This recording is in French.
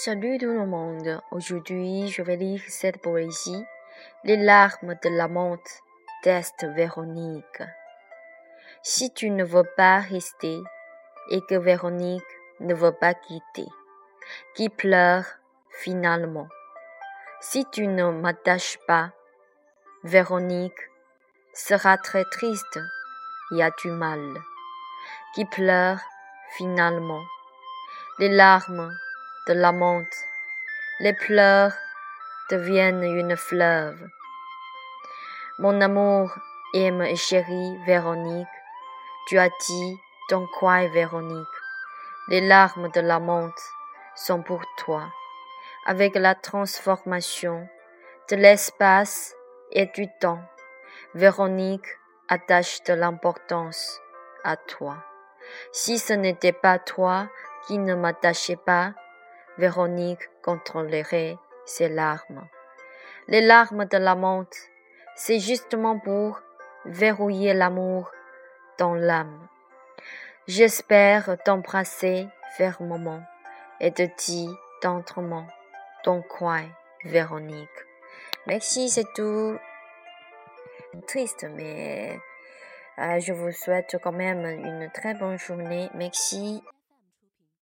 Salut tout le monde, aujourd'hui je vais lire cette poésie, Les larmes de l'amante d'Est Véronique. Si tu ne veux pas rester et que Véronique ne veut pas quitter, qui pleure finalement. Si tu ne m'attaches pas, Véronique sera très triste et a du mal, qui pleure finalement. Les larmes de l'amante, les pleurs deviennent une fleuve. Mon amour aime et chérit Véronique, tu as dit ton coin Véronique. Les larmes de l'amante sont pour toi, avec la transformation de l'espace et du temps. Véronique attache de l'importance à toi. Si ce n'était pas toi qui ne m'attachais pas, Véronique contrôlerait ses larmes. Les larmes de l'amante, c'est justement pour verrouiller l'amour dans l'âme. J'espère t'embrasser fermement et te dire tendrement ton coin, Véronique. Merci, c'est tout. Triste, mais je vous souhaite quand même une très bonne journée. Merci.